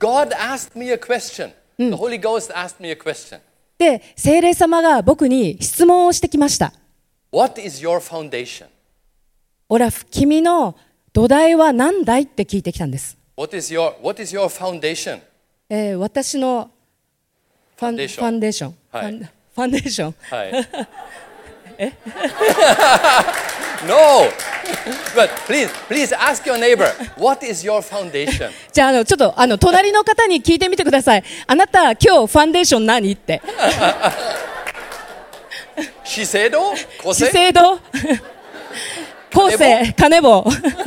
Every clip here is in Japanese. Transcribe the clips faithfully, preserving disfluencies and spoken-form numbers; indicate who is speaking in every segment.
Speaker 1: God asked me a question. The Holy Ghost asked me a question.
Speaker 2: で、聖霊様が僕に質問をしてきました。
Speaker 1: What is your foundation?
Speaker 2: オラフ、君の土台は何だいって聞いてきたんです。
Speaker 1: What is your, what is your foundation?
Speaker 2: えー、私のファン、
Speaker 1: ファンデーション。
Speaker 2: ファンデーション。
Speaker 1: はい、
Speaker 2: ファン、ファンデーション。
Speaker 1: はい。えNo! But please, please ask your neighbor, what is your foundation?
Speaker 2: じゃあ、あの、ちょっと、あの、隣の方に聞いてみてください。あなた、今日ファンデーション何って。
Speaker 1: 資生堂？
Speaker 2: 資生堂？後世、金棒。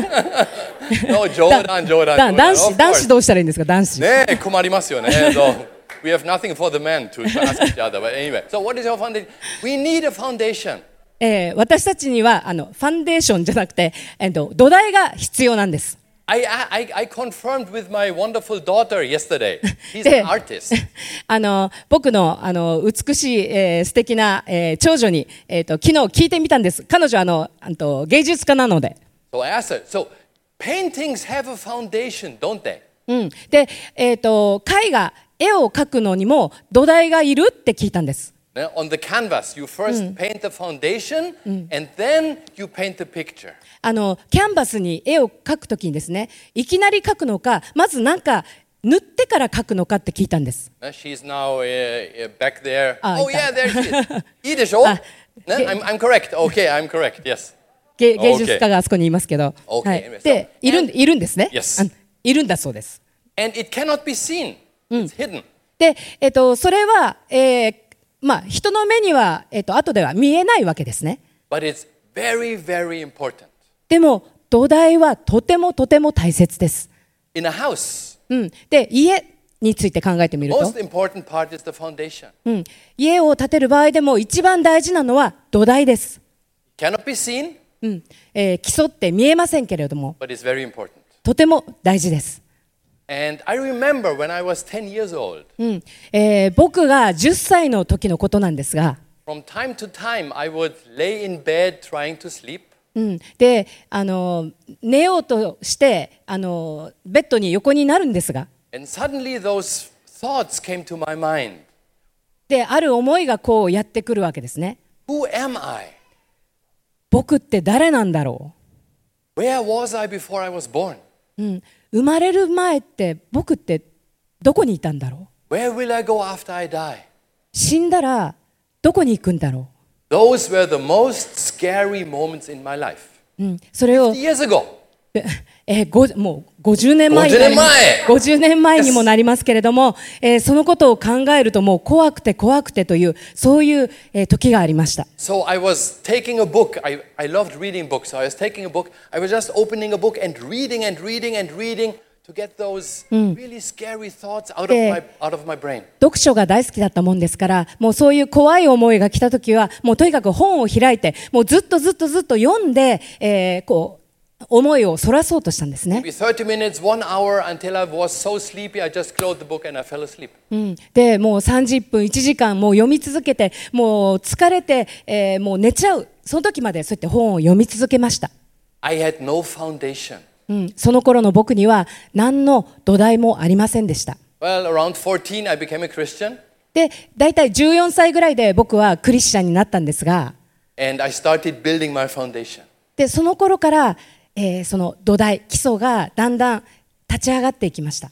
Speaker 1: No, 冗談、冗談。
Speaker 2: 男子、男子どうしたらいいんですか、男子。
Speaker 1: ねえ、困りますよね。So, we have nothing for the men to ask each other. But anyway, so what is your foundation? We need a foundation.
Speaker 2: えー、私たちにはあのファンデーションじゃなくて、えー、と土台が必要なんです。
Speaker 1: I, I, I confirmed with my wonderful daughter yesterday. She's an artist.
Speaker 2: あの僕のあの美しい、えー、素敵な、えー、長女に、えー、と昨日聞いてみたんです。彼女はあのあの芸術家なので。
Speaker 1: So I asked her, so paintings have a foundation, don't they?
Speaker 2: うん、で、えー、と絵画、絵を描くのにも土台がいるって聞いたんです。
Speaker 1: On the canvas, you first paint the foundation, and then you paint the picture.
Speaker 2: あのキャンバスに絵を描くときにですね、いきなり描くのか、まずなんか塗ってから描くのかって聞いたんです。
Speaker 1: She's now uh, back there.
Speaker 2: あ、
Speaker 1: oh yeah, there she is. いいでしょ？ね、I'm, I'm correct. Okay, I'm correct. Yes.
Speaker 2: 芸, 芸術家があそこにいますけど、
Speaker 1: okay.
Speaker 2: はい、でいるんいるんですね。
Speaker 1: Yes.
Speaker 2: いるんだそうです。
Speaker 1: And it cannot be seen. It's hidden.
Speaker 2: で、えっとそれは、えーまあ、人の目には、えっと、後では見えないわけですね。
Speaker 1: But it's very, very important.
Speaker 2: でも土台はとてもとても大切です。
Speaker 1: In a house,
Speaker 2: うん、で家について考えてみると、
Speaker 1: most important part is the foundation.
Speaker 2: うん、家を建てる場合でも一番大事なのは土台です。
Speaker 1: Cannot be seen,
Speaker 2: うんえー、基礎って見えませんけれども、
Speaker 1: but it's very important.
Speaker 2: とても大事です。
Speaker 1: And I remember when I was ten years old.
Speaker 2: うんえー、僕がじゅっさいの時のことなんですが、
Speaker 1: From time to time, I would lay in bed trying to sleep.
Speaker 2: うん、であの寝ようとしてあのベッドに横になるんですが、
Speaker 1: And suddenly those thoughts came to my mind.
Speaker 2: である思いがこうやってくるわけですね。
Speaker 1: Who am I?
Speaker 2: 僕って誰なんだろ
Speaker 1: Where was I before I was born?
Speaker 2: う、うん、生まれる前って僕ってどこにいたんだろう。
Speaker 1: Where will I go after I die?
Speaker 2: 死んだらどこに行くんだろ
Speaker 1: Those were the most scary moments in my life.
Speaker 2: う、うん、それを
Speaker 1: fifty years ago.
Speaker 2: えー、ごもうごじゅうねんまえになります。ごじゅうねんまえにもなりますけれども、えー、そのことを考えるともう怖くて怖くてというそういう、えー、時がありました。
Speaker 1: So I was taking a book. I, I loved reading books. So I was taking a book. I was just opening a book and reading and reading and reading to get those really scary thoughts out of my, out of my brain.
Speaker 2: 読書が大好きだったもんですから、もうそういう怖い思いが来た時はもうとにかく本を開いてもうずっとずっとずっと読んで、えー、こう思いをそらそうとしたんですね。
Speaker 1: Maybe thirty minutes, one hour until I was so sleepy, I just closed the book and I fell asleep.
Speaker 2: うん、でもうさんじゅっぷんいちじかんもう読み続けてもう疲れて、えー、もう寝ちゃうその時までそうやって本を読み続けました。
Speaker 1: I had no foundation.
Speaker 2: うん、その頃の僕には何の土台もありませんでした。
Speaker 1: Well, around fourteen, I became a Christian.
Speaker 2: でだいたいじゅうよんさいぐらいで僕はクリスチャンになったんですが、
Speaker 1: And I started building my foundation.
Speaker 2: でその頃からえー、その土台基礎がだんだん立ち上がっていきました。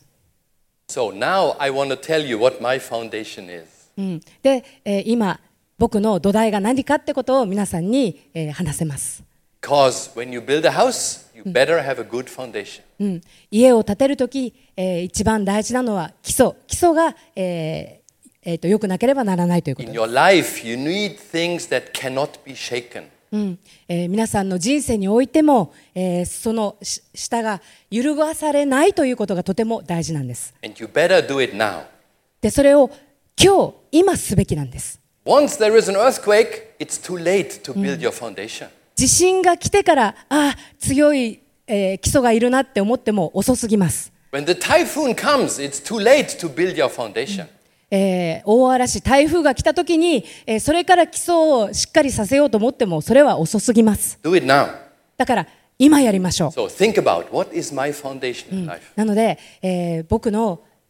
Speaker 1: So now I want to tell you what my foundation is.
Speaker 2: うん、で、えー、今僕の土台が何かってことを皆さんに、えー、話せます。
Speaker 1: Because when you build a house, you better have a good foundation.
Speaker 2: うん、家を建てるとき、えー、一番大事なのは基礎基礎が、えーえー、と良くなければならないということ
Speaker 1: In
Speaker 2: です。
Speaker 1: your life, you need things that cannot be shaken.
Speaker 2: うんえー、皆さんの人生においても、えー、その下が揺るがされないということがとても大事なんです。
Speaker 1: And you better do it now.
Speaker 2: でそれを今日今すべきなんです。
Speaker 1: Once there is an earthquake, it's too late to build your foundation.
Speaker 2: 地震が来てからああ強い、えー、基礎がいるなって思っても遅すぎます。
Speaker 1: When the typhoon comes, it's too late to build your foundation.
Speaker 2: えー、大嵐台風が来た時に、えー、それから基礎をしっかりさせようと思ってもそれは遅すぎます。
Speaker 1: Do it now.
Speaker 2: だから今やりましょう。
Speaker 1: So think about what is my foundation in life.
Speaker 2: なので、えー、僕の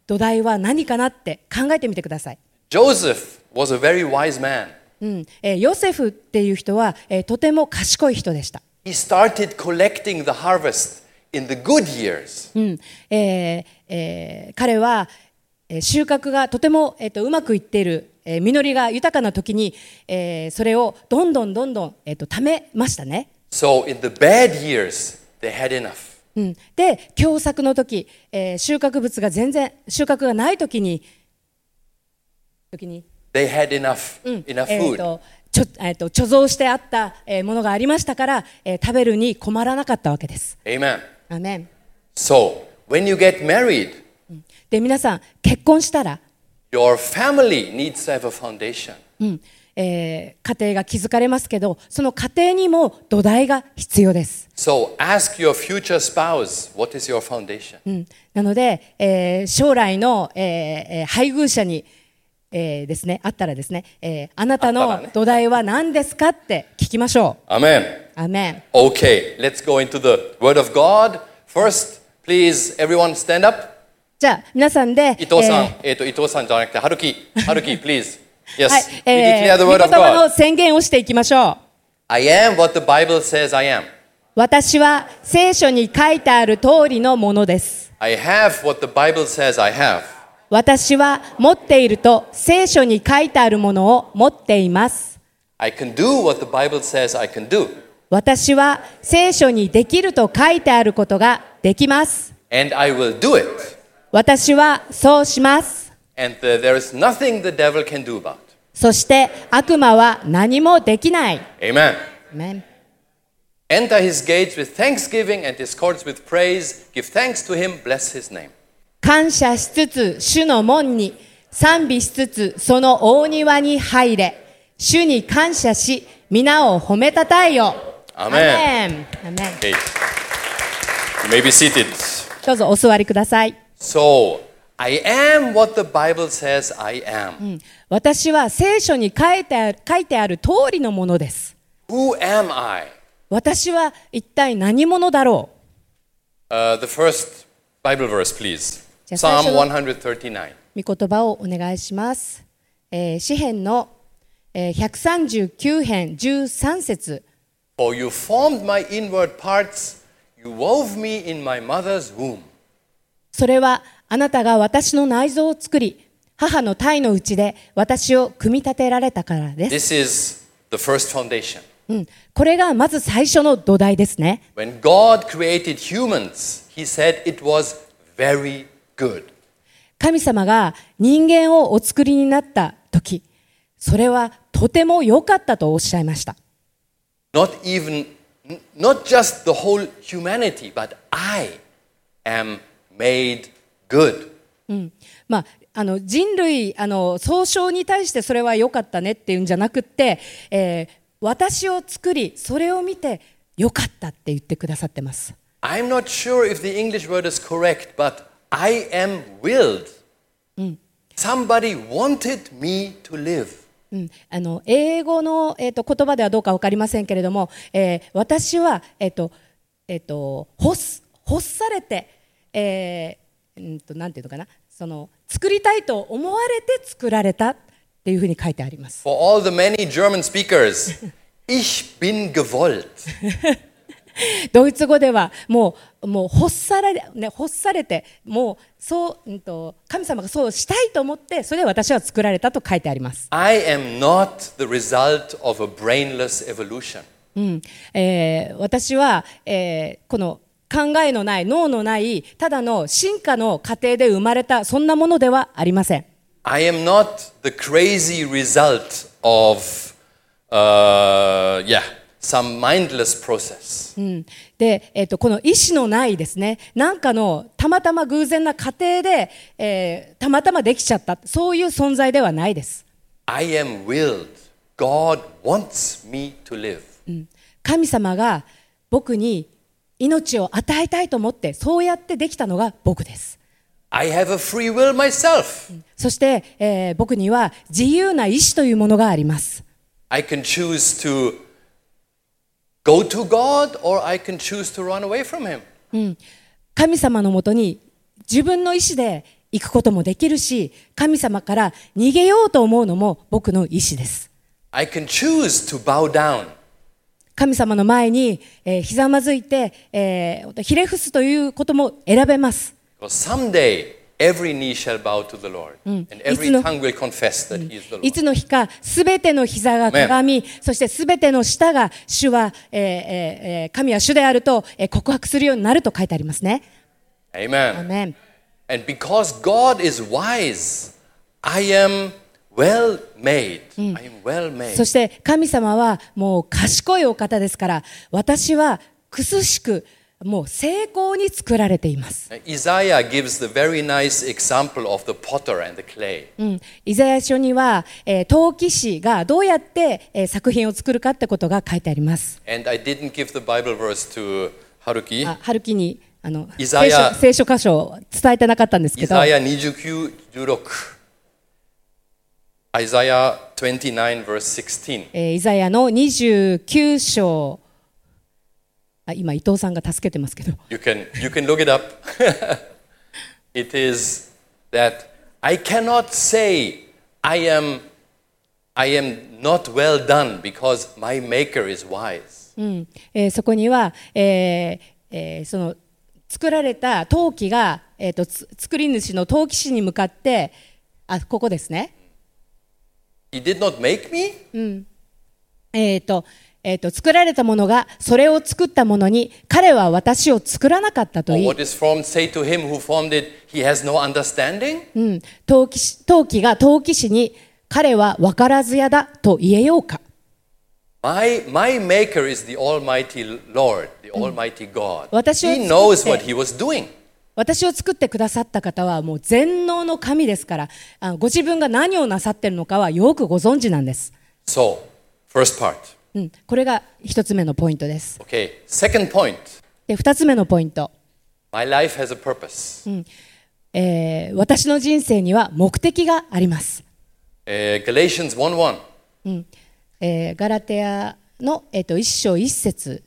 Speaker 2: 土台は何かなって考えてみてください。
Speaker 1: Joseph was a very wise man.
Speaker 2: うんえー、ヨセフっていう人は、えー、とても賢い人でした。
Speaker 1: He started collecting the harvest in the good years.
Speaker 2: うんえーえー、彼は、えー、収穫がとても、えー、とうまくいっている、えー、実りが豊かな時に、えー、それをどんどんどんどん、えー、と貯めましたね。
Speaker 1: So in the bad years, they had enough.
Speaker 2: うん、で、凶作の時、えー、収穫物が全然収穫がない時に、時に
Speaker 1: They had enough,
Speaker 2: うん、
Speaker 1: enough
Speaker 2: えー
Speaker 1: food.
Speaker 2: とちょえー、と貯蔵してあった、えー、ものがありましたから、えー、食べるに困らなかったわけです。
Speaker 1: Amen.
Speaker 2: アメン。
Speaker 1: So when you get married,
Speaker 2: で、皆さん結婚したら、
Speaker 1: your family needs to have a foundation.
Speaker 2: うんえー、家庭が築かれますけど、その家庭にも土台が必要です。
Speaker 1: So ask your future spouse, what is your foundation?
Speaker 2: うん、なので、えー、将来の、えー、配偶者に、えー、ですね、あったらですね、えー、あなたの土台は何ですかって聞きましょう。
Speaker 1: Amen.
Speaker 2: アメン。
Speaker 1: Okay, let's go into the Word of God. First, please, everyone stand up.
Speaker 2: じゃあ皆さんで、
Speaker 1: 伊藤さん、
Speaker 2: えー
Speaker 1: えっと、伊藤さんじゃなくて、春樹、春樹、please. Yes,
Speaker 2: はい、
Speaker 1: we
Speaker 2: え
Speaker 1: declare
Speaker 2: ー、
Speaker 1: the
Speaker 2: 御
Speaker 1: Word
Speaker 2: 言
Speaker 1: of
Speaker 2: 葉の
Speaker 1: God.
Speaker 2: 宣言をしていきましょう。
Speaker 1: I am what the Bible says I am.
Speaker 2: 私は聖書に書いてある通りのものです。
Speaker 1: I have what the Bible says I have.
Speaker 2: 私は持っていると聖書に書いてあるものを持っています。
Speaker 1: I can do what the Bible says I can do.
Speaker 2: 私は聖書にできると書いてあることができます。
Speaker 1: And I will do it.
Speaker 2: 私はそうします。
Speaker 1: And uh, there is nothing the devil can do about it.
Speaker 2: そして悪魔は何もできない。
Speaker 1: Amen.
Speaker 2: アメン。
Speaker 1: Enter his gates with thanksgiving and his courts with praise. Give thanks to him. Bless his name.
Speaker 2: 感謝しつつ主の門に賛美しつつその大庭に入れ。主に感謝し皆を褒めたたえよ。
Speaker 1: アメン。
Speaker 2: アメン。アメン。
Speaker 1: Okay. You may be seated.
Speaker 2: どうぞお座りください。
Speaker 1: So, I am what the Bible says I am.
Speaker 2: うん、私は聖書に書いてある、書いてある通りのものです。
Speaker 1: Who am I?
Speaker 2: 私は一体何者だろう。
Speaker 1: Uh, the first Bible verse, please.
Speaker 2: じゃあ最
Speaker 1: Psalm
Speaker 2: 初の
Speaker 1: one thirty-nine.
Speaker 2: 御言葉をお願いします。えー、詩編の、えー、ひゃくさんじゅうきゅう編じゅうさん節。
Speaker 1: For you formed my inward parts, you wove me in my mother's womb.
Speaker 2: それはあなたが私の内臓を作り、母の胎の内で私を組み立てられたからです。
Speaker 1: This is the first foundation.
Speaker 2: うん、これがまず最初の土台ですね。
Speaker 1: When God created humans, he said it was very good.
Speaker 2: 神様が人間をお作りになった時、それはとても良かったとおっしゃいました。
Speaker 1: Not even, not just the whole humanity, but I am made good.
Speaker 2: うんまあ、あの人類あの総称に対してそれは良かったねっていうんじゃなくって、えー、私を作りそれを見て良かったって言ってくださってます。
Speaker 1: I'm not sure if the English word is correct, but I am willed. Somebody wanted me to live.
Speaker 2: うん、あの英語の、えー、と言葉ではどうか分かりませんけれども、えー、私は、えーとえー、と欲す欲されて、えー、うんとなんていうのかな、その作りたいと思われて作られたっていうふうに書いてあります。
Speaker 1: For all the many German speakers, ich bin gewollt.
Speaker 2: ドイツ語ではもうもう欲され、ね、欲されてもうそう、うんと、神様がそうしたいと思ってそれで私は作られたと書いてあります。
Speaker 1: I am not the result of a brainless evolution.
Speaker 2: うんえー、私は、えー、この考えのない脳のないただの進化の過程で生まれたそんなものではありません。
Speaker 1: I am not the crazy result of, uh, yeah, some mindless process.
Speaker 2: うんでえー、とこの意志のないですね、なんかのたまたま偶然な過程で、えー、たまたまできちゃったそういう存在ではないです。
Speaker 1: I am willed. God wants me to live.
Speaker 2: うん、神様が僕に命を与えたいと思ってそうやってできたのが僕です。
Speaker 1: I have a free will myself.
Speaker 2: そして、えー、僕には自由な意志というものがあります。
Speaker 1: I can choose to go to God or I can choose to run away from him.
Speaker 2: うん、神様のもとに自分の意志で行くこともできるし、神様から逃げようと思うのも僕の意思です。
Speaker 1: I can choose to bow down.
Speaker 2: 神様の前に、えー、ひざまずいて、えー、ひれ伏すということも選べます。
Speaker 1: Someday, every knee shall bow to the Lord, and every tongue will confess that He is the Lord.
Speaker 2: いつの日か、すべての膝がかがみ、そしてすべての舌が主は、えーえー、神は主であると、えー、告白するようになると書いてありますね。
Speaker 1: Amen.
Speaker 2: Amen.
Speaker 1: And because God is wise, I am well made. I am well made.
Speaker 2: そして神様はもう賢いお方ですから、私はくすしくもう成功に作られています。
Speaker 1: Isaiah gives the very nice example of the potter and the clay.
Speaker 2: うん、イザヤ書には、えー、陶器師がどうやって、えー、作品を作るかってことが書いてあります。
Speaker 1: And I didn't give the Bible verse to Haruki.
Speaker 2: あ、春樹にあの聖書、
Speaker 1: Isaiah-
Speaker 2: 聖書箇所を伝えてなかったんですけど、
Speaker 1: Isaiah twenty-nine, sixteen. Isaiah twenty-nine, verse sixteen.
Speaker 2: えーイザヤのにじゅうきゅう章、あ、今伊藤さんが助けてますけど、
Speaker 1: You can, you can look it up. It is that I cannot say I am, I am not well done because my maker is wise.
Speaker 2: うんえーそこには、えーえーその作られた陶器が、えーとつ作り主の陶器師に向かって、あ、ここですね。
Speaker 1: He did not make me?
Speaker 2: えーとえーと作られたものがそれを作ったものに、彼は私を作らなかったと
Speaker 1: Or
Speaker 2: 言い、
Speaker 1: what is formed, say to him who formed it, he has no understanding?
Speaker 2: うん、陶器師陶器が陶器師に、彼は分からずやだと言えようか。
Speaker 1: My, my maker is the Almighty Lord, the Almighty God.
Speaker 2: 私を
Speaker 1: He
Speaker 2: 作って
Speaker 1: knows what he was doing.
Speaker 2: 私を作ってくださった方はもう全能の神ですから、あご自分が何をなさっているのかはよくご存知なんです。
Speaker 1: So, first part.
Speaker 2: うん、これが一つ目のポイントです。
Speaker 1: Okay, second point.
Speaker 2: で、二つ目のポイント、
Speaker 1: My life has a purpose.
Speaker 2: えー私の人生には目的があります。
Speaker 1: Uh, Galatians one one.
Speaker 2: えーガラテヤの、えー、と一章一節、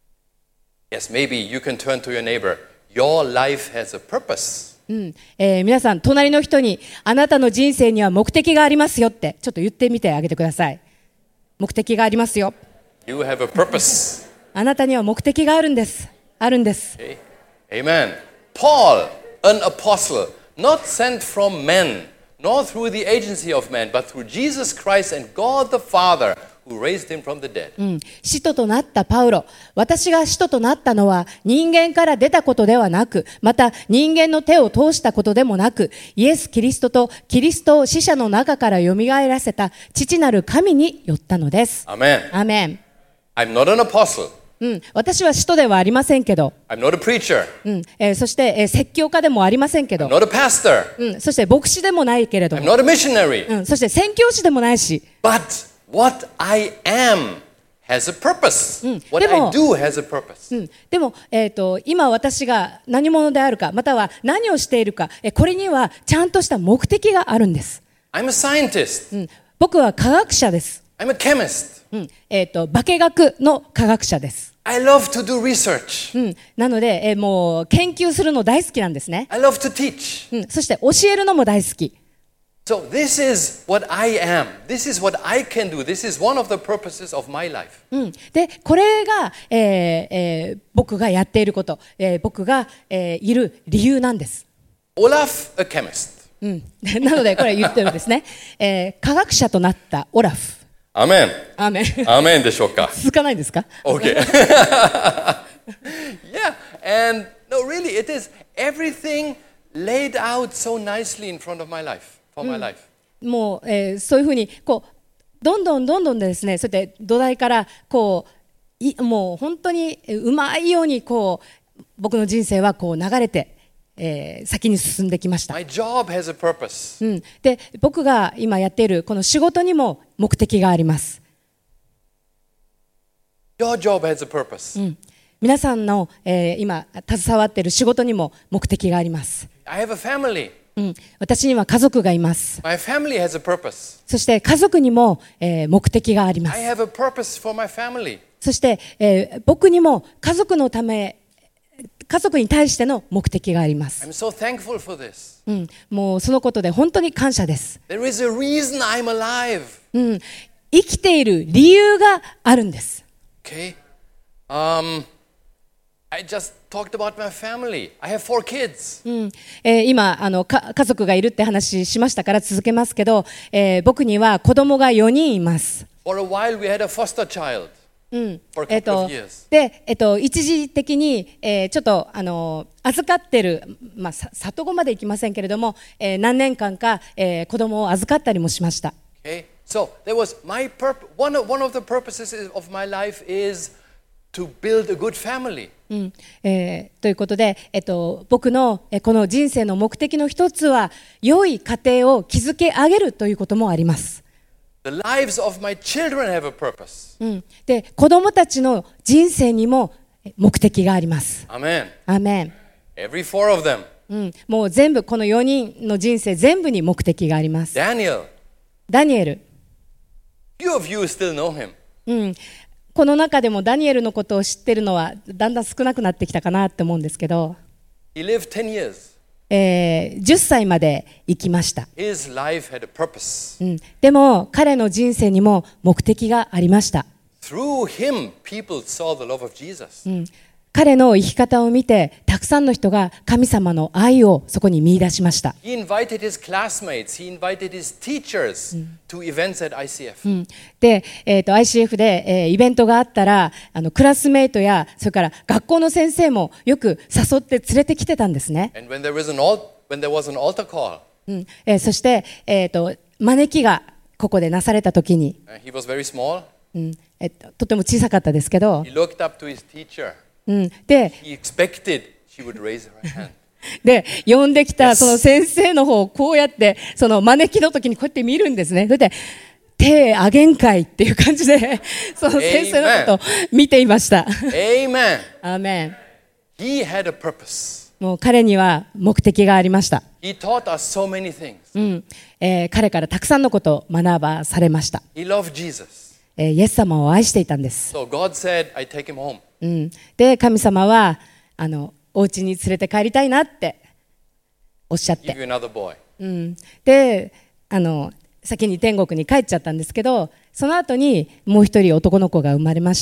Speaker 1: Yes, maybe you can turn to your neighbor. Your life has a purpose.
Speaker 2: うんえー皆さん、隣の人にあなたの人生には目的がありますよってちょっと言ってみてあげてください。目的がありますよ。
Speaker 1: You have a purpose.
Speaker 2: あなたには目的があるんです。あるんです。
Speaker 1: Okay. Amen. Paul, an apostle, not sent from men, nor through the agency of man, but through Jesus Christ and God the Father, who raised him from the dead.
Speaker 2: うん、使徒となったパウロ、私が使徒となったのは人間から出たことではなく、また人間の手を通したことでもなく、イエス・キリストとキリストを死者の中からよみがえらせた父なる神によったのです。
Speaker 1: Amen.
Speaker 2: アーメン。
Speaker 1: I'm not an apostle.
Speaker 2: うん、私は使徒ではありませんけど、
Speaker 1: I'm not a preacher.
Speaker 2: うんえーそして、えー説教家でもありませんけ
Speaker 1: I'm
Speaker 2: ど、
Speaker 1: not a pastor.
Speaker 2: うん、そして牧師でもないけれど
Speaker 1: I'm
Speaker 2: も、
Speaker 1: not a missionary.
Speaker 2: うん、そして宣教師でもないし、
Speaker 1: But what I am has a purpose. What
Speaker 2: でも-
Speaker 1: I do has a purpose.
Speaker 2: うん、でも、えーと、今私が何者であるか、または何をしているか、えこれにはちゃんとした目的があるんです。
Speaker 1: I'm a scientist.
Speaker 2: うん、僕は科学者です。
Speaker 1: I'm a chemist.
Speaker 2: うんえーと、化学の科学者です。
Speaker 1: I love to do research.
Speaker 2: うん、なので、えーもう研究するの大好きなんですね。
Speaker 1: I love to teach.
Speaker 2: うん、そして教えるのも大好き。
Speaker 1: So this is what I am. This is what I can do. This is one of the purposes of my life.
Speaker 2: うん、でこれが、えーえー僕がやっていること、えー僕が、えーいる理由なんです。
Speaker 1: Olaf, a chemist.
Speaker 2: うん、なのでこれ言ってるんですね、えー科学者となったオラフ。
Speaker 1: Amen.
Speaker 2: アーメン。
Speaker 1: Amen でしょうか。
Speaker 2: 続かないですか？
Speaker 1: Okay. Yeah, and no, really, it is everything laid out so nicely in front of my life, for my life.
Speaker 2: もう、えーそういうふうにこうどんどんどんどんですね、そうやって土台からこういもう本当にうまいようにこう僕の人生はこう流れて、えー先に進んできました。
Speaker 1: My job has a purpose.
Speaker 2: うん、で僕が今やっているこの仕事にも目的があります。
Speaker 1: Your job has a purpose.
Speaker 2: うん、皆さんの、えー今携わっている仕事にも目的があります。
Speaker 1: I have a family.
Speaker 2: うん、私には家族がいます。
Speaker 1: My family has a purpose.
Speaker 2: そして家族にも、えー目的がありま
Speaker 1: I
Speaker 2: す。
Speaker 1: have a purpose for my family.
Speaker 2: そして、えー僕にも家族のため家族に対しての目的があります。
Speaker 1: I'm so thankful for this.
Speaker 2: うん、もうそのことで本当に感謝です。
Speaker 1: There is a reason I'm alive.
Speaker 2: うん、生きている理由があるんです。
Speaker 1: Okay. Um, I just talked about my family. I have four kids.
Speaker 2: うんえー、今あのか家族がいるって話しましたから続けますけど、えー、僕には子供がよにんいます。
Speaker 1: For a while we had a foster child.
Speaker 2: うん、
Speaker 1: For
Speaker 2: え
Speaker 1: a
Speaker 2: っ
Speaker 1: couple
Speaker 2: と
Speaker 1: of years.
Speaker 2: で、えっと、一時的に、えー、ちょっとあの預かってる、まあ、さ里子まで行きませんけれども、えー、何年間か、えー、子供を預かったりもしました。
Speaker 1: Okay. So there was my purpose. One of, one of the purposes of my life is to build a good family.
Speaker 2: うんえー、ということで、えっと、僕のえこの人生の目的の一つは良い家庭を築け上げるということもあります。
Speaker 1: The lives of my children have a purpose.
Speaker 2: うん、で子供たちの人生にも目的があります。
Speaker 1: Amen.
Speaker 2: アーメン。
Speaker 1: Every four of them.
Speaker 2: うん、もう全部このよにんの人生全部に目的があります。
Speaker 1: Daniel.
Speaker 2: ダニエル、
Speaker 1: Few of you still know him.
Speaker 2: うん、この中でもダニエルのことを知ってるのはだんだん少なくなってきたかなって思うんですけど、
Speaker 1: He lived ten years.
Speaker 2: えー、じゅっさいまで生きました。
Speaker 1: His life had a purpose.
Speaker 2: うん、でも彼の人生にも目的がありました。
Speaker 1: Through him, people saw the love of Jesus.
Speaker 2: うん、彼の生き方を見てたくさんの人が神様の愛をそこに見出しました。
Speaker 1: He invited his classmates, he invited his teachers to events at アイシーエフ.
Speaker 2: うん、で、えー、と アイシーエフ で、えー、イベントがあったらあのクラスメイトやそれから学校の先生もよく誘って連れてきてたんですね。
Speaker 1: And when there was an, al- when there was an altar call,
Speaker 2: うんえー、そして、えー、と招きがここでなされた時に、
Speaker 1: uh, he was very small.
Speaker 2: うんえー、ととても小さかったですけど、
Speaker 1: He looked up to his teacher.
Speaker 2: うん、で
Speaker 1: He expected she would raise her hand.
Speaker 2: で呼んできた
Speaker 1: Yes.
Speaker 2: その先生の方をこうやってその招きの時にこうやって見るんですね。それで手あげんかいっていう感じでその先生のことを見ていました。
Speaker 1: Amen.
Speaker 2: アーメン。
Speaker 1: He had a purpose.
Speaker 2: もう彼には目的がありました。
Speaker 1: He taught us so many things.
Speaker 2: うんえー彼からたくさんのことを学ばされました。
Speaker 1: He loved Jesus.
Speaker 2: えーイエス様を愛していたんです。
Speaker 1: So God said, I take him home.
Speaker 2: うん、で神様はあのお家に連れて帰りたいなっておっしゃっ
Speaker 1: Give
Speaker 2: て、
Speaker 1: you another boy.
Speaker 2: うん、であの先に天国に帰っちゃったんですけど、その後にもう一人男の子が生まれました。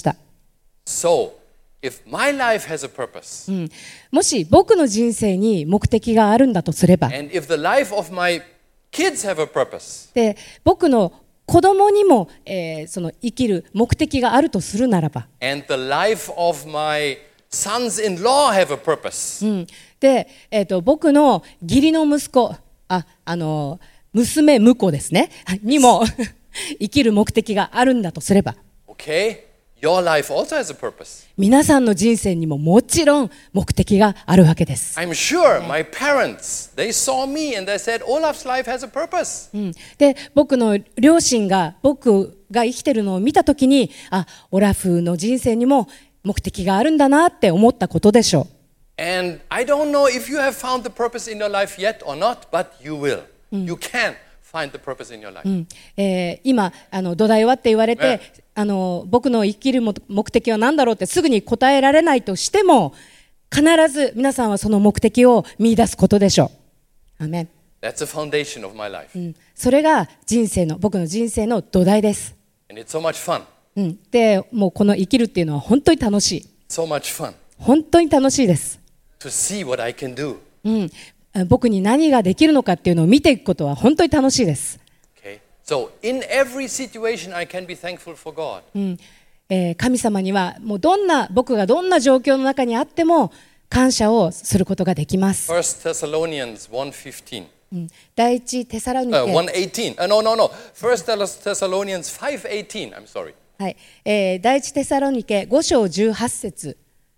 Speaker 1: So, if my life has a purpose,
Speaker 2: うん、もし僕の人生に目的があるんだとすれば、
Speaker 1: and if the life of my kids have a purpose,
Speaker 2: で僕の子供にも、えーその生きる目的があるとするならば、
Speaker 1: and the life of my sons-in-law have a purpose,
Speaker 2: うん、で、えーと僕の義理の息子、あ、あの娘婿ですねにも生きる目的があるんだとすれば、
Speaker 1: okay? Your life also has a purpose.
Speaker 2: 皆さんの人生にももちろん目的があるわけです。
Speaker 1: I'm sure my parents, they saw me and they said, Olaf's life has a purpose.
Speaker 2: うん、で僕の両親が僕が生きてるのを見たときに、あ、オラフの人生にも目的があるんだなって思ったことでしょう。
Speaker 1: And I don't know if you have found the purpose in your life yet or not, but you will. You can find the purpose in your life.
Speaker 2: うんえー今あの土台はって言われて、
Speaker 1: ね
Speaker 2: あの僕の生きるも目的は何だろうってすぐに答えられないとしても、必ず皆さんはその目的を見出すことでしょう。アーメン。
Speaker 1: That's the foundation of my life.
Speaker 2: うん、それが人生の僕の人生の土台です。
Speaker 1: And it's so much fun.
Speaker 2: うん、でもうこの生きるっていうのは本当に楽しい。
Speaker 1: So much fun
Speaker 2: 本当に楽しいです。
Speaker 1: to see what I can do.
Speaker 2: うん、僕に何ができるのかっていうのを見ていくことは本当に楽しいです。
Speaker 1: Okay? So in every situation, I can be thankful for God.
Speaker 2: うんえー神様にはもうどんな僕がどんな状況の中にあっても感謝をすることができます。
Speaker 1: First Thessalonians one fifteen.
Speaker 2: うん第一テサロニケ、
Speaker 1: Uh, one eighteen. Uh, no, no, no. First Thessalonians five eighteen. I'm sorry.
Speaker 2: はいえー第一テサロニケご章じゅうはち節、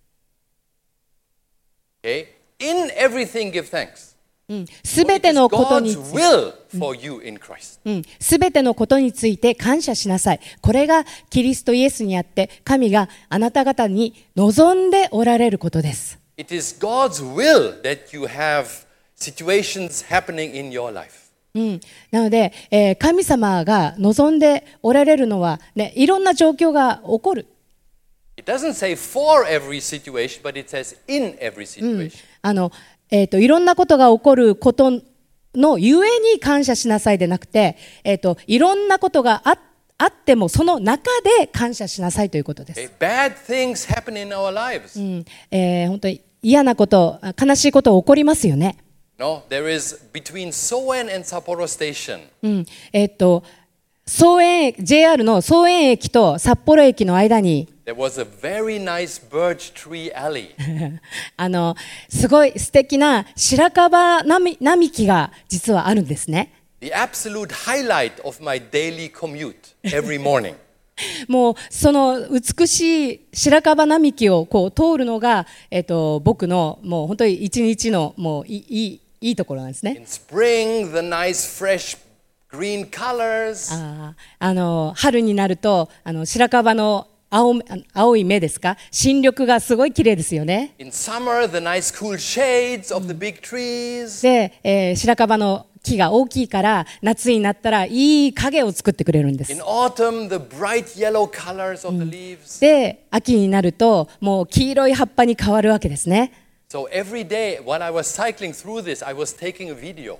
Speaker 1: Okay? In everything, give thanks.
Speaker 2: すべてのことに
Speaker 1: God's will for you in Christ.
Speaker 2: うん、すべてのことについて感謝しなさい。これがキリストイエスにあって神があなた方に望んでおられることです。
Speaker 1: It is God's will that you have situations happening in your life.
Speaker 2: うん、なので、えー神様が望んでおられるのは、ね、いろんな状況が起こる。
Speaker 1: It doesn't say for every situation, but it says in every situation.
Speaker 2: あの、えーと、いろんなことが起こることのゆえに感謝しなさいでなくて、えーと、いろんなことがあ、あってもその中で感謝しなさいということです。
Speaker 1: Okay, bad things happen in our lives.
Speaker 2: うんえー、本当に嫌なこと、悲しいこと起こりますよね。
Speaker 1: No, there is between Soen and Sapporo Station.
Speaker 2: うんえーと、総園 ジェイアール の総園駅と札幌駅の間に
Speaker 1: There was a very nice birch tree alley.
Speaker 2: あのすごい素敵な白樺並並木が実はあるんですね。
Speaker 1: The absolute highlight of my daily commute every morning.
Speaker 2: もうその美しい白樺並木をこう通るのが、えっと、僕のもう本当に一日のもういいいいところなんですね。
Speaker 1: In spring, the nice fresh green colors.
Speaker 2: ああの春になるとあの白樺の 青, 青い芽ですか、新緑がすごい綺麗ですよね。
Speaker 1: In summer, the nice cool shades of the big trees.
Speaker 2: で、えー、白樺の木が大きいから夏になったらいい影を作ってくれるんです。
Speaker 1: In autumn, the bright yellow colors of the leaves.
Speaker 2: で秋になるともう黄色い葉っぱに変わるわけですね。
Speaker 1: So every day while I was cycling through this, I was taking a video.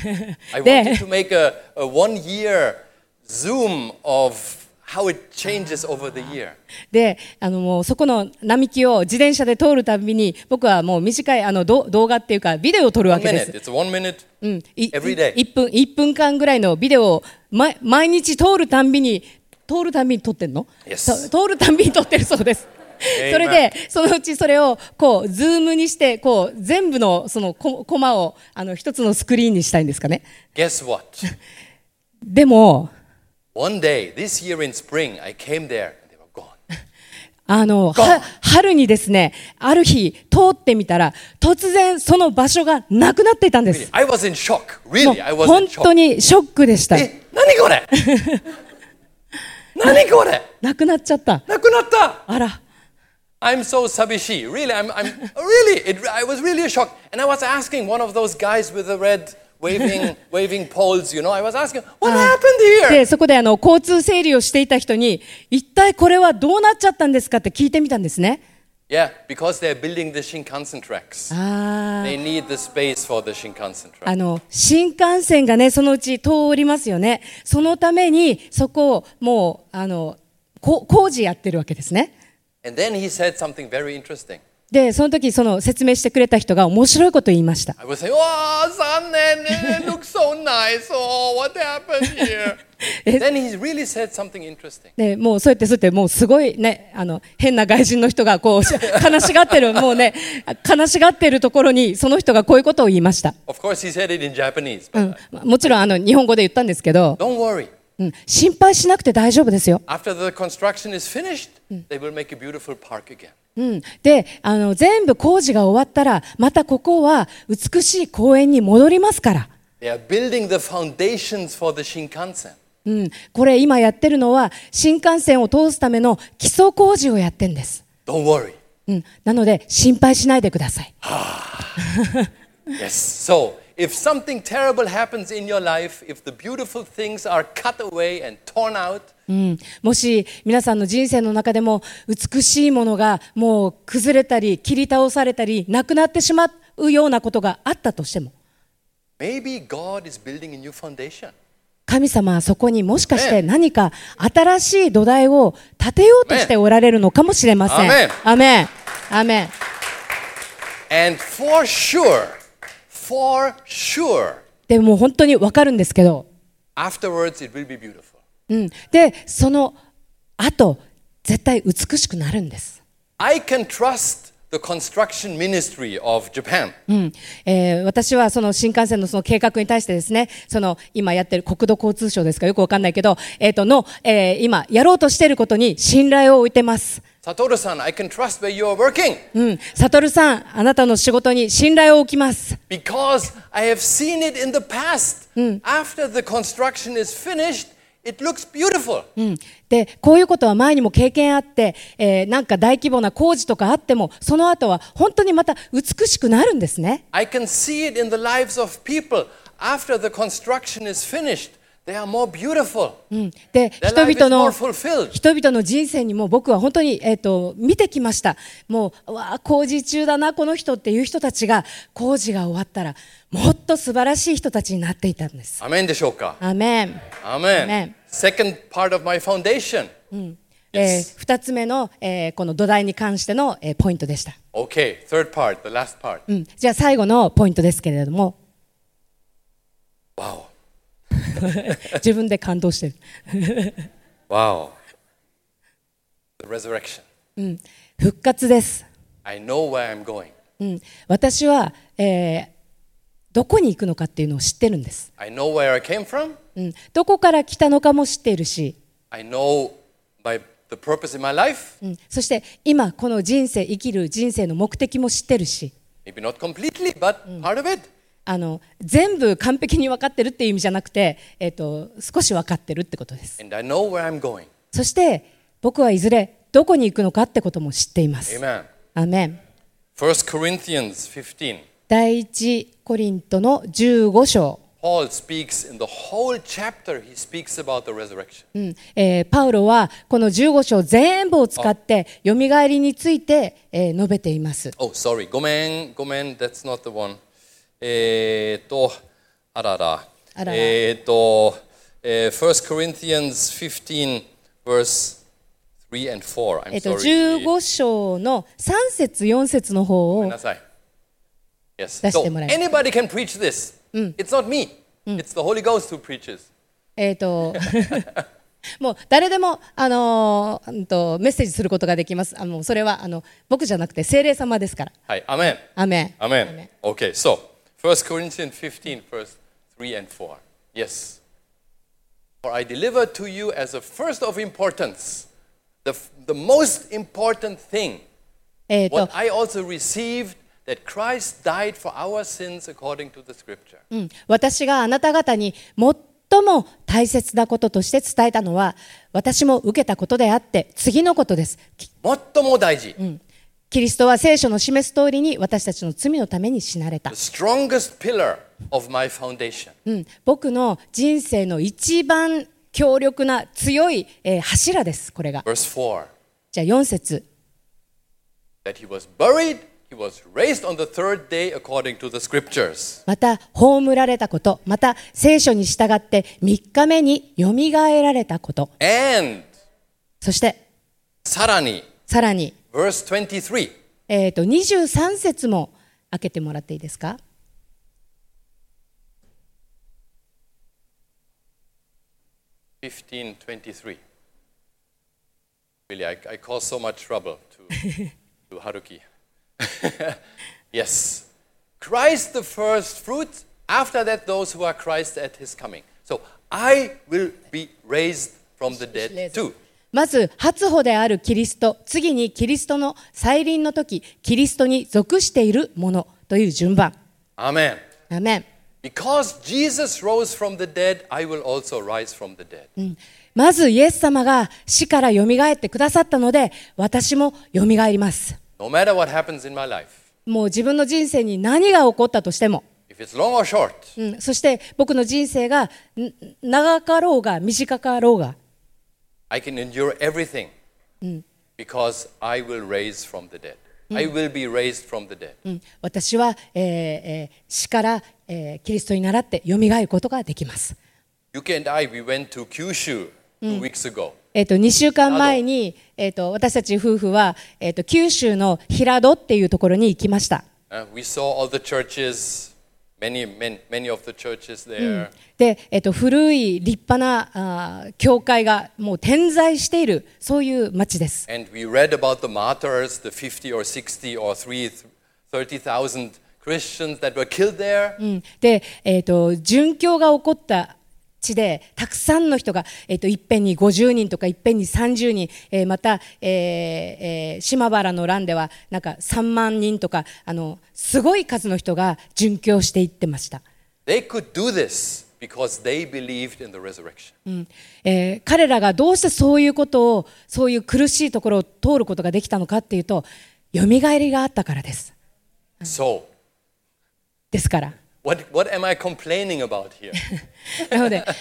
Speaker 1: I
Speaker 2: で
Speaker 1: wanted to make a, a one year zoom of how it changes over the year.
Speaker 2: であのもうそこの並木を自転車で通るたびに僕はもう短いあのど動画っていうかビデオを撮るわ
Speaker 1: One
Speaker 2: けで
Speaker 1: minute.
Speaker 2: す。
Speaker 1: It's one minute
Speaker 2: うん、い
Speaker 1: every day.
Speaker 2: いっぷんいっぷんかんぐらいのビデオを、ま、毎日通るたんびに通るたんびに撮ってんの、
Speaker 1: Yes.
Speaker 2: と通るたんびに撮ってるそうです。それでそのうちそれをこうズームにしてこう全部のそのココマをあの一つのスクリーンにしたいんですかね。
Speaker 1: Guess what?
Speaker 2: でも
Speaker 1: One day, this year in spring, I came there and they were gone.
Speaker 2: あのは春にですねある日通ってみたら突然その場所がなくなっていたんで
Speaker 1: Really,
Speaker 2: す。
Speaker 1: I was in shock.
Speaker 2: もう
Speaker 1: Really, I was
Speaker 2: 本
Speaker 1: in
Speaker 2: 当
Speaker 1: shock.
Speaker 2: にショックでした。
Speaker 1: え、何これ何これ
Speaker 2: なくなっちゃった。
Speaker 1: なくなった
Speaker 2: あら。
Speaker 1: I'm so sabishi. Really, I'm, I'm really, it, I was really a shock. And I was asking one of those guys with the red waving, waving poles, you know, I was asking, what happened here?
Speaker 2: でそこであの交通整理をしていた人に一体これはどうなっちゃったんですかって聞いてみたんですね。
Speaker 1: Yeah, because they're building the Shinkansen tracks.
Speaker 2: あ
Speaker 1: They need the space for the Shinkansen
Speaker 2: あ
Speaker 1: track.
Speaker 2: の新幹線がねそのうち通りますよね。そのためにそこをもうあのこ工事やってるわけですね。
Speaker 1: And then he said something very interesting.
Speaker 2: でその時その説明してくれた人が面白いことを言いました。
Speaker 1: I was saying, oh, Sannen, it looks so nice. Oh, what happened here? Then he really said something interesting.
Speaker 2: でもうそうやってそうやってもうすごいねあの変な外人の人がこう悲しがってるもうね悲しがってるところにその人がこういうことを言いました。
Speaker 1: Of course, he said it in Japanese.
Speaker 2: う
Speaker 1: But
Speaker 2: ん、もちろんあの日本語で言ったんですけど、
Speaker 1: don't worry.
Speaker 2: うん、心配しなくて大丈夫ですよ。
Speaker 1: After the construction is finished, they will make a beautiful park again.
Speaker 2: うん、であの全部工事が終わったらまたここは美しい公園に戻りますから。
Speaker 1: They are building the foundations for the Shinkansen.
Speaker 2: うん、これ今やってるのは新幹線を通すための基礎工事をやってるんです。
Speaker 1: Don't worry.
Speaker 2: うん、なので心配しないでください。
Speaker 1: Yes. So, if something terrible happens in your life, if the beautiful things are cut away and torn out,
Speaker 2: うん、もし皆さんの人生の中でも美しいものがもう崩れたり切り倒されたりなくなってしまうようなことがあったとしても、
Speaker 1: maybe God is building a new foundation.
Speaker 2: 神様はそこにもしかして何か新しい土台を建てようとしておられるのかもしれません。
Speaker 1: アメン。
Speaker 2: アメン。アメン。
Speaker 1: And for sure, for sure,
Speaker 2: でも本当に分かるんですけど、
Speaker 1: afterwards it will be beautiful.
Speaker 2: うん、でその後絶対美しくなるんです。
Speaker 1: I can trust the construction ministry of Japan.
Speaker 2: うんえー、私はその新幹線のその計画に対してですね、その今やってる国土交通省ですかよくわかんないけど、えー、との、えー、今やろうとしていることに信頼を置いてます。
Speaker 1: Satoru-san, I can trust where you are working.
Speaker 2: うん、サトルさん、あなたの仕事に信頼を置きます。
Speaker 1: Because I have seen it in the past. After the construction is finished, it looks beautiful.
Speaker 2: うん、でこういうことは前にも経験あって、えー、なんか大規模な工事とかあってもその後は本当にまた美しくなるんですね。
Speaker 1: I can see it in the lives of people. After the construction is finished, they are more beautiful.
Speaker 2: うん、で
Speaker 1: Their
Speaker 2: 人
Speaker 1: life
Speaker 2: 々
Speaker 1: is
Speaker 2: の
Speaker 1: more fulfilled.
Speaker 2: 人々の人生にも僕は本当に、えー、と見てきました。もうわあ工事中だなこの人っていう人たちが工事が終わったらもっと素晴らしい人たちになっていたんです。
Speaker 1: アメンでしょうか。
Speaker 2: アメン。
Speaker 1: アメン。
Speaker 2: Amen.
Speaker 1: Second part of my foundation.
Speaker 2: えー、ふたつめの、えー、この土台に関しての、えー、ポイントでした。
Speaker 1: Okay, third part, the last part.
Speaker 2: うん、じゃあ最後のポイントですけれども、
Speaker 1: Wow.
Speaker 2: 自分で感動してる。
Speaker 1: Wow. The resurrection.
Speaker 2: うん、復活です。
Speaker 1: I know where I'm going.
Speaker 2: うん、私は、えー、どこに行くのかっていうのを知ってるんです。
Speaker 1: I know where I came from.
Speaker 2: うん、どこから来たのかも知っているし、
Speaker 1: I know my the purpose in my life.
Speaker 2: うん、そして今この人生生きる人生の目的も知ってるし、
Speaker 1: Maybe not completely, but part of it.
Speaker 2: あの全部完璧に分かってるっていう意味じゃなくて、えー、と少し分かってるってことです。
Speaker 1: And I know where I'm going.
Speaker 2: そして僕はいずれどこに行くのかってことも知っています。
Speaker 1: Amen.
Speaker 2: アメン。
Speaker 1: First Corinthians fifteen.
Speaker 2: 第一コリントのじゅうご章、
Speaker 1: Paul speaks in the whole chapter, he speaks about the resurrection.
Speaker 2: うんえーパウロはこのじゅうご章全部を使ってよみがえりについて、えー述べています。
Speaker 1: Oh, sorry. ごめん、ごめん、that's not the one. えーっと、あらら。
Speaker 2: あらら
Speaker 1: えーっと、えー First Corinthians fifteen, verse three and four. I'm
Speaker 2: えっと、
Speaker 1: sorry.
Speaker 2: じゅうご章のさん節よん節の方を
Speaker 1: ごめんなさい。Yes.
Speaker 2: 出し
Speaker 1: So
Speaker 2: てもらい
Speaker 1: anybody can preach this. It's not me. It's the Holy Ghost who preaches.
Speaker 2: えっともう誰でも、あのーうんとメッセージすることができます。あのそれはあの僕じゃなくて聖霊様ですから。
Speaker 1: はい、アメン。
Speaker 2: アメン。
Speaker 1: Amen. Okay, so First Corinthians fifteen, verse three and four. Yes. For I delivered to you as of first of importance, the, the most important thing,
Speaker 2: えっと
Speaker 1: what I also received, that Christ died for our sins according to the scripture.
Speaker 2: うん、私があなた方に最も大切なこととして伝えたのは私も受けたことであって次のことです。き
Speaker 1: 最も大事。
Speaker 2: キリストは聖書の示す通りに私たちの罪のために死なれた。
Speaker 1: The strongest pillar of my foundation.
Speaker 2: うん、僕の人生の一番強力な強い、えー柱です。これが。
Speaker 1: Verse four.
Speaker 2: じゃあよん節。
Speaker 1: That he was buried, he was raised on the third day according to the scriptures.
Speaker 2: また葬られたこと、また聖書に従ってみっかめによみがえられたこと、
Speaker 1: And
Speaker 2: そして
Speaker 1: さらに
Speaker 2: さらに、
Speaker 1: verse twenty-three.
Speaker 2: えー、とにじゅうさん節も開けてもらっていいですか。
Speaker 1: fifteen twenty-three. Really, I, I cause so much trouble to, to Haruki. Yes. Christ the first fruit, after that those who are Christ at his coming. So I will be raised from the dead too.
Speaker 2: まず初歩であるキリスト、次にキリストの再臨の時、キリストに属しているものという順番。
Speaker 1: Amen.
Speaker 2: アメン。
Speaker 1: Because Jesus rose from the dead, I will also rise from the dead.
Speaker 2: まずイエス様が死からよみがえってくださったので私もよみがえります。
Speaker 1: No matter what happens in my life,
Speaker 2: もう自分の人生に何が起こったとしても、
Speaker 1: if it's long or short,
Speaker 2: うん、そして僕の人生がん長かろうが短かろうが、
Speaker 1: I can endure everything because I will raise from the dead. I will be raised from the dead.
Speaker 2: うん、私は、えーえー死から、えーキリストに倣ってよみがえることができます。
Speaker 1: Yuki and I, we went to Kyushu two weeks ago.
Speaker 2: えー、とにしゅうかんまえに、えー、と私たち夫婦は、えー、と九州の平戸っていうところに行きました。
Speaker 1: Uh, we saw all the churches, many, many, many of the churches there.
Speaker 2: で、えー、と古い立派なあー教会がもう点在しているそういう町です。
Speaker 1: And we read about the martyrs, the fifty or sixty or thirty thousand Christians that were killed there.
Speaker 2: うんで、えー、と殉教が起こった地でたくさんの人が、えー、といっぺんにごじゅうにんとかいっぺんにさんじゅうにん、えーまた、えーえー島原の乱ではなんかさんまんにんとかあのすごい数の人が殉教していってました。
Speaker 1: They could do this because they believed in the resurrection.
Speaker 2: うんえー彼らがどうしてそういうことをそういう苦しいところを通ることができたのかっていうとよみがえりがあったからです。
Speaker 1: So,
Speaker 2: ですから
Speaker 1: what, what am I complaining about here?
Speaker 2: なので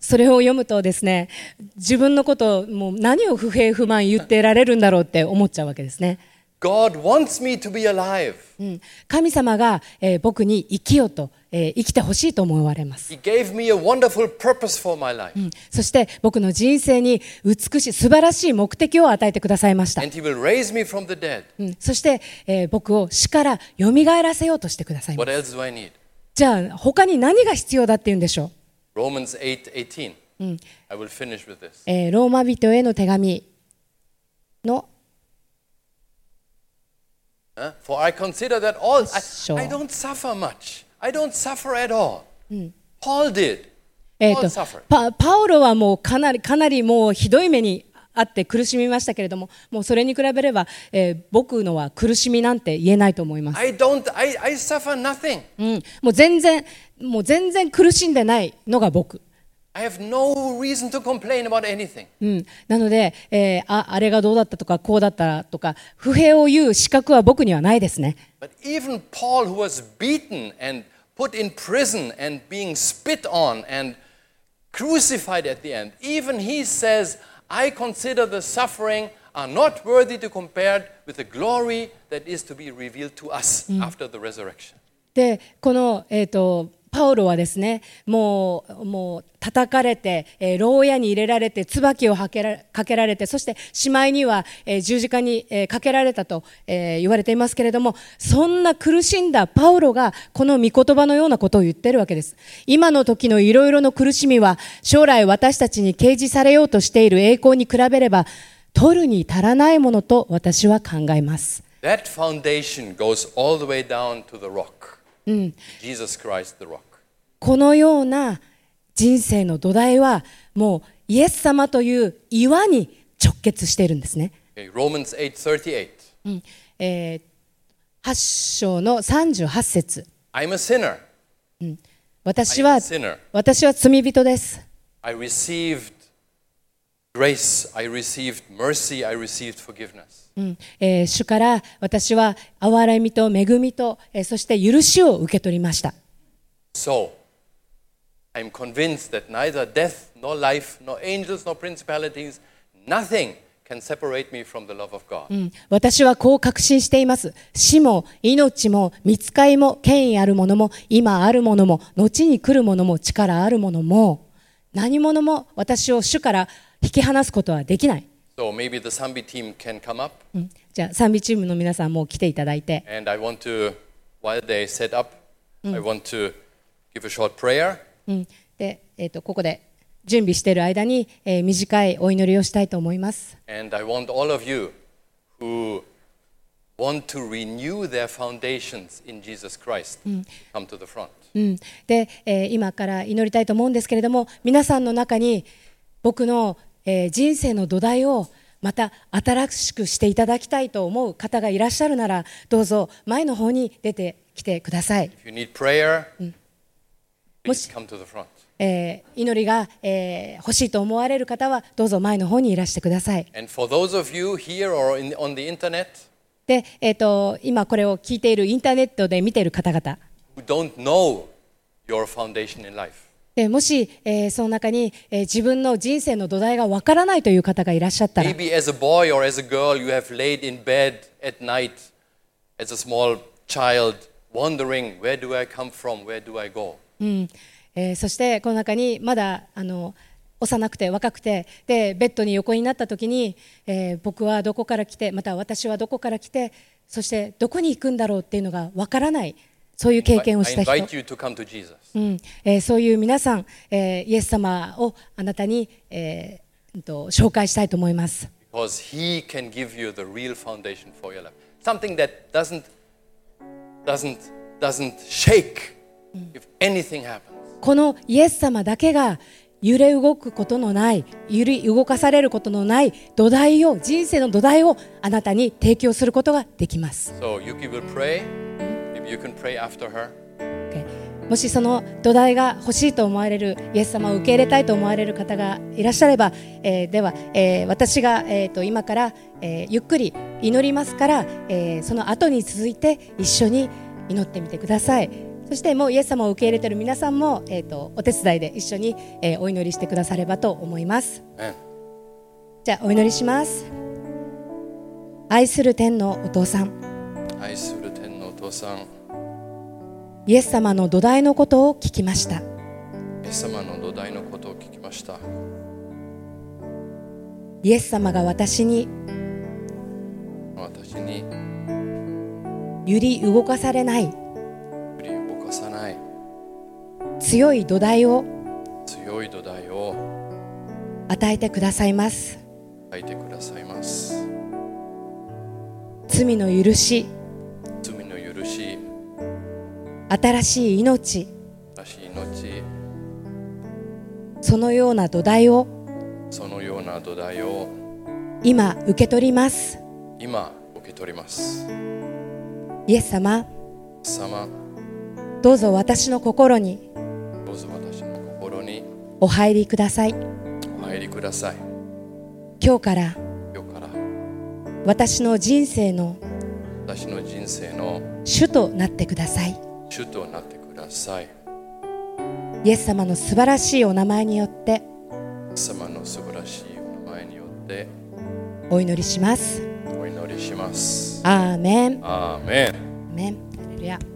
Speaker 2: それを読むとですね、自分のことをもう何を不平不満言ってられるんだろうって思っちゃうわけですね。
Speaker 1: God wants me to be alive.
Speaker 2: うん、神様が、えー僕に生きようと、えー生きてほしいと思われます。
Speaker 1: He gave me a wonderful purpose for my life.
Speaker 2: うんそして僕の人生に美しい素晴らしい目的を与えてくださいました。
Speaker 1: And He will raise me from the dead.
Speaker 2: うんそして、えー僕を死からよみがえらせようとしてくださいます。
Speaker 1: What else do I need?
Speaker 2: じゃあ他に何が必要だっていうんでしょ
Speaker 1: Romans eight eighteen. I will finish with this.
Speaker 2: う、えーローマ人への手紙の
Speaker 1: Huh? For I consider that all,
Speaker 2: Sure.
Speaker 1: I, I don't suffer much. I don't suffer at all. Paul did.
Speaker 2: えー
Speaker 1: Paul
Speaker 2: と
Speaker 1: suffered.
Speaker 2: パ, パウロはもうかなりかなりもうひどい目にあって苦しみましたけれども、もうそれに比べれば、えー僕のは苦しみなんて言えないと思います。
Speaker 1: I don't, I, I suffer nothing.
Speaker 2: うん、もう全然もう全然苦しんでないのが僕。
Speaker 1: I have no reason to complain about anything.
Speaker 2: うん、なので、えーあ、あれがどうだったとかこうだったとか不平を言う資格は僕にはないですね。
Speaker 1: But even Paul, who was beaten and put in prison and being spit on and crucified at the end, even he says, I consider the suffering are not worthy to compare with the glory that is to be revealed to us after the resurrection.
Speaker 2: でこの、えー、とパウロはですね、もうもう叩かれて、えー牢屋に入れられて椿をかけらかけられて、そしてしまいには、えー十字架に、えーかけられたと、えー言われていますけれども、そんな苦しんだパウロがこの御言葉のようなことを言ってるわけです。今の時のいろいろの苦しみは将来私たちに掲示されようとしている栄光に比べれば取るに足らないものと私は考えます。
Speaker 1: That foundation goes all the way down to the rock. Jesus Christ, the rock.
Speaker 2: このような人生の土台はもうイエス様という岩に直結しているんですね。
Speaker 1: Okay, Romans eight thirty-eight.
Speaker 2: うんえー、はち章のさんじゅうはち節、
Speaker 1: I'm a sinner.
Speaker 2: 私
Speaker 1: I'm a
Speaker 2: は
Speaker 1: sinner.
Speaker 2: 私は罪人です。
Speaker 1: I received grace. I received mercy. I received forgiveness.
Speaker 2: うんえー主から私は憐れみと恵みと、えーそして許しを受け取りました。
Speaker 1: So, I'm convinced that neither death, nor life, nor angels, nor principalities, nothing can separate me from the love of God.
Speaker 2: うん私はこう確信しています。死も命も御使いも権威あるものも今あるものも後に来るものも力あるものも何者も私を主から引き離すことはできない。
Speaker 1: So maybe the Sambi team can come up,
Speaker 2: うんじゃあ賛美チームの皆さんも来ていただいて、
Speaker 1: and I want to, while they set up, I want to give a short prayer.
Speaker 2: うんでえー、とここで準備している間に、えー短いお祈りをしたいと思います。
Speaker 1: And I want all of you who want to renew their foundations in Jesus Christ to come to the front.
Speaker 2: うんでえー今から祈りたいと思うんですけれども、皆さんの中に僕の、えー人生の土台をまた新しくしていただきたいと思う方がいらっしゃるなら、どうぞ前の方に出てきてください。
Speaker 1: If you need prayer, please
Speaker 2: Much-
Speaker 1: come to the front.
Speaker 2: えー祈りが、えー欲しいと思われる方はどうぞ前の方にいらしてください。
Speaker 1: And for those of you here or in, on the internet
Speaker 2: で、えー、と今これを聞いているインターネットで見ている方々
Speaker 1: who don't know your foundation in life,
Speaker 2: でもし、えーその中に、えー自分の人生の土台がわからないという方がいらっしゃったら、
Speaker 1: maybe as a boy or as a girl you have laid in bed at night as a small child wondering, where do I come from, where do I go?
Speaker 2: うんえーそしてこの中にまだあの幼くて若くてでベッドに横になった時に、えー僕はどこから来てまた私はどこから来てそしてどこに行くんだろうっていうのがわからない、そういう経験を
Speaker 1: I
Speaker 2: した人、
Speaker 1: invite you to come to Jesus.
Speaker 2: うんえーそういう皆さん、えーイエス様をあなたに、えーうんと紹介したいと思います。
Speaker 1: Because He can give you the real foundation for your life. Something that doesn't, doesn't, doesn't shake if anything happens.
Speaker 2: このイエス様だけが揺れ動くことのない、揺り動かされることのない土台を、人生の土台をあなたに提供することができます。
Speaker 1: So Yuki will pray. Maybe you can pray after her.
Speaker 2: Okay. もしその土台が欲しいと思われる、イエス様を受け入れたいと思われる方がいらっしゃれば、えーでは、えー私が、えーと今から、えーゆっくり祈りますから、えーその後に続いて一緒に祈ってみてください。 そしてもうイエス様を受け入れている皆さんも、えー、とお手伝いで一緒に、えーお祈りしてくださればと思います。
Speaker 1: Amen.
Speaker 2: じゃあお祈りします。愛する天のお父さん、
Speaker 1: 愛する天のお父さん、
Speaker 2: イエス様の土台のことを聞きました。
Speaker 1: イエス様の土台のことを聞きました。
Speaker 2: イエス様が私に
Speaker 1: 私に
Speaker 2: 揺り動かされない
Speaker 1: 振り動かさない
Speaker 2: 強い土台を
Speaker 1: 強い土台を
Speaker 2: 与えてくださいます。
Speaker 1: 書いてくださいます。
Speaker 2: 罪の許し、
Speaker 1: 罪の許し、
Speaker 2: 新しい命、
Speaker 1: 新しい命、
Speaker 2: そのような土台を
Speaker 1: そのような土台を
Speaker 2: 今受け取ります。
Speaker 1: 今受け取ります。
Speaker 2: イエス様、
Speaker 1: イエス様、
Speaker 2: どうぞ私の心に
Speaker 1: どうぞ私の心に
Speaker 2: お入りください。
Speaker 1: お入りください。
Speaker 2: 今日から
Speaker 1: 今日から
Speaker 2: 私の人生の
Speaker 1: 私の人生の
Speaker 2: 主となってください。
Speaker 1: 主となってください。
Speaker 2: イエス様の素晴らしいお名前によって
Speaker 1: イエス様の素晴らしいお名前によって
Speaker 2: お祈りします。
Speaker 1: お祈りします。
Speaker 2: アーメン。
Speaker 1: アーメン。
Speaker 2: アーメン。ハレルヤ。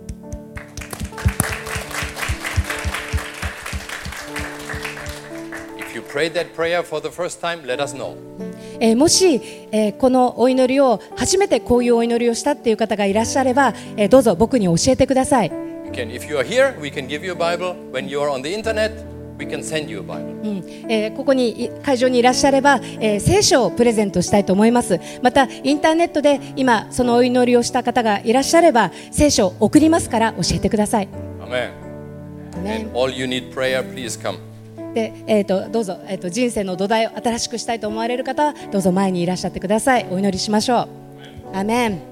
Speaker 1: If you prayed that prayer for the first time, let us know.
Speaker 2: えーもし、えーこのお祈りを初めてこういうお祈りをしたっていう方がいらっしゃれば、えーどうぞ僕に教えてください。
Speaker 1: You can, if you are here, we can give you a Bible. When you are on the internet, we can send you a Bible.
Speaker 2: うんえーここにい会場にいらっしゃれば、えー聖書をプレゼントしたいと思います。またインターネットで今そのお祈りをした方がいらっしゃれば聖書を送りますから教えてください。
Speaker 1: Amen.
Speaker 2: アーメン
Speaker 1: And all you need prayer, please come.
Speaker 2: で、えー、とどうぞ、えー、と人生の土台を新しくしたいと思われる方はどうぞ前にいらっしゃってください。お祈りしましょう。アーメン。